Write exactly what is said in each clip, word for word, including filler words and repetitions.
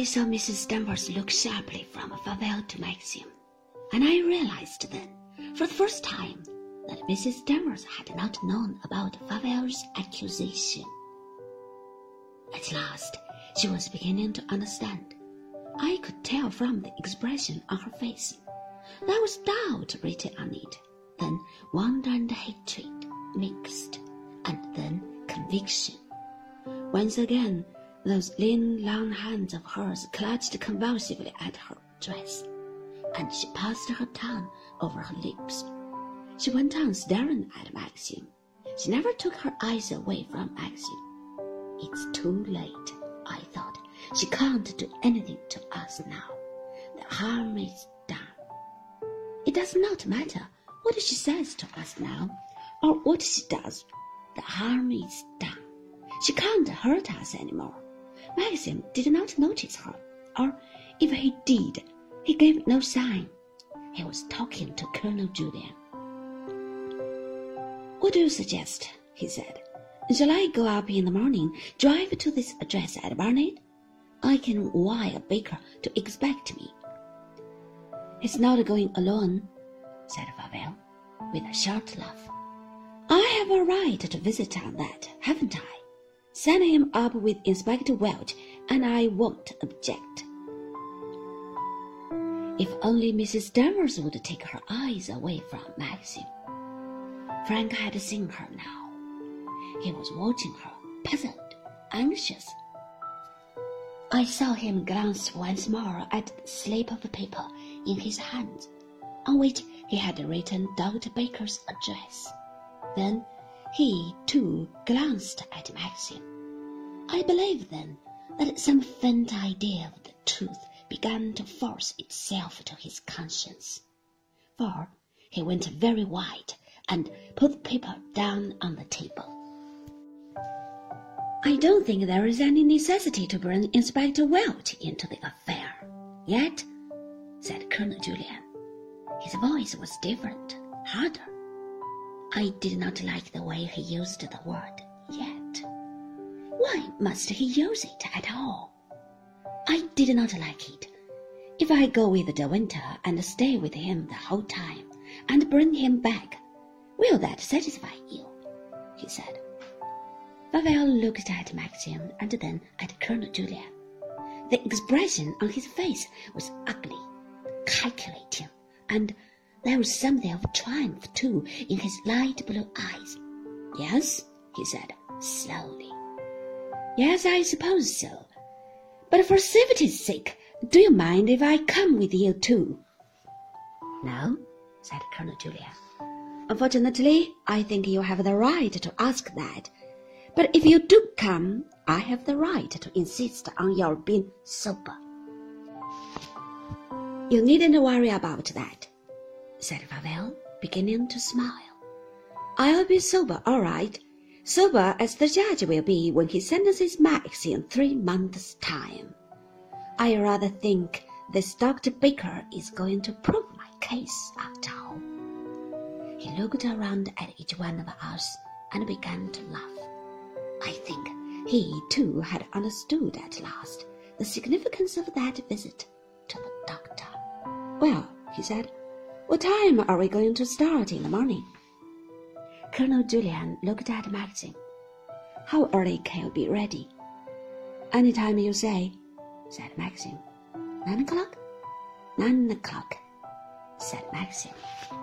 I saw Missus Danvers look sharply from Favell to Maxim, and I realized then, for the first time, that Missus Danvers had not known about Favell's accusation. At last, she was beginning to understand. I could tell from the expression on her face. There was doubt written on it, then wonder and hatred mixed, and then conviction. Once again, those lean, long hands of hers clutched convulsively at her dress, and she passed her tongue over her lips. She went on staring at Maxim. She never took her eyes away from Maxim. It's too late, I thought. She can't do anything to us now. The harm is done. It does not matter what she says to us now, or what she does. The harm is done. She can't hurt us anymore. Maxim did not notice her, or if he did, he gave no sign. He was talking to Colonel Julien. "What do you suggest?" he said. "Shall I go up in the morning, drive to this address at Barnet? I can wire Baker to expect me." "He's not going alone," said Favell, with a short laugh. "I have a right to visit on that, haven't I? Send him up with Inspector Welch, and I won't object." If only Missus Danvers would take her eyes away from Maxim. Frank had seen her now. He was watching her, puzzled, anxious. I saw him glance once more at the slip of paper in his hands, on which he had written Doctor Baker's address. Then he, too, glanced at Maxim. I believe then that some faint idea of the truth began to force itself to his conscience, for he went very white and put the paper down on the table. "I don't think there is any necessity to bring Inspector Welch into the affair, yet," said Colonel Julien. His voice was different, harder. I did not like the way he used the word "yet." Why must he use it at all? I did not like it. If I go with De Winter and stay with him the whole time, and bring him back, will that satisfy you? He said. Favell looked at Maxim and then at Colonel Julien. The expression on his face was ugly, calculating, and there was something of triumph, too, in his light blue eyes. "Yes," he said, slowly. "Yes, I suppose so. But for safety's sake, do you mind if I come with you, too?" "No," said Colonel Julien. "Unfortunately, I think you have the right to ask that. But if you do come, I have the right to insist on your being sober." "You needn't worry about that," said Favell, beginning to smile. "I'll be sober, all right. Sober as the judge will be when he sentences Max in three months' time. I rather think this Doctor Baker is going to prove my case after all." He looked around at each one of us and began to laugh. I think he, too, had understood at last the significance of that visit to the doctor. "Well," he said, "what time are we going to start in the morning?" Colonel Julien looked at Maxim. "How early can you be ready?" "Any time you say," said Maxim. Nine o'clock?" Nine o'clock, said Maxim.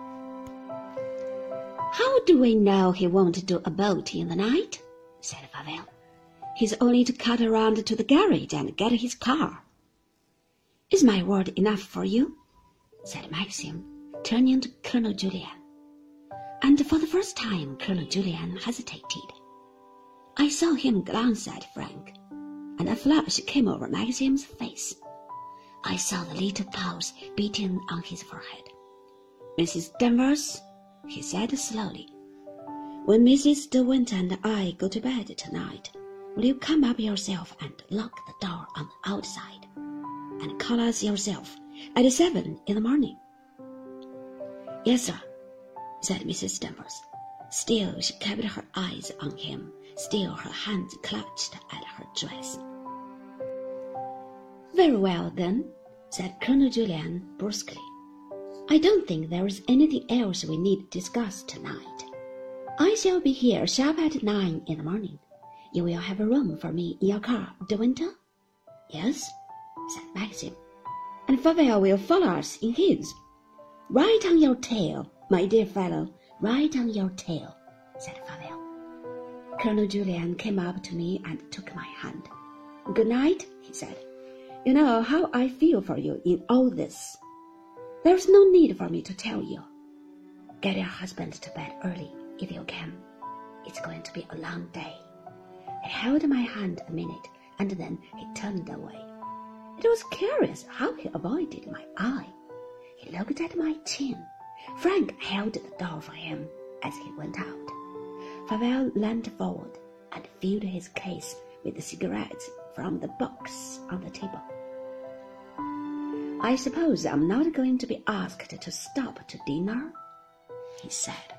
"How do we know he won't do a boat in the night?" said Favell. "He's only to cut around to the garage and get his car." "Is my word enough for you?" said Maxim, turning to Colonel Julien. And for the first time Colonel Julien hesitated. I saw him glance at Frank, and a flush came over Maxim's face. I saw the little pulse beating on his forehead. "Missus Danvers," he said slowly, "when Missus De Winter and I go to bed tonight, will you come up yourself and lock the door on the outside, and call us yourself at seven in the morning?" "Yes, sir," said Missus Danvers. Still she kept her eyes on him, still her hands clutched at her dress. Very well, then, said Colonel Julien brusquely. I don't think there is anything else we need to discuss tonight. I shall be here sharp at nine in the morning. You will have a room for me in your car, De Winter? Yes, said Maxim. And Favel will follow us in his. Right on your tail, my dear fellow, right on your tail, said Favel. Colonel Julien came up to me and took my hand. Good night, he said. You know how I feel for you in all this. There's no need for me to tell you. Get your husband to bed early, if you can. It's going to be a long day. He held my hand a minute, and then he turned away. It was curious how he avoided my eye. He looked at my chin. Frank held the door for him as he went out. Favel leaned forward and filled his case with the cigarettes from the box on the table. I suppose I'm not going to be asked to stop to dinner, he said.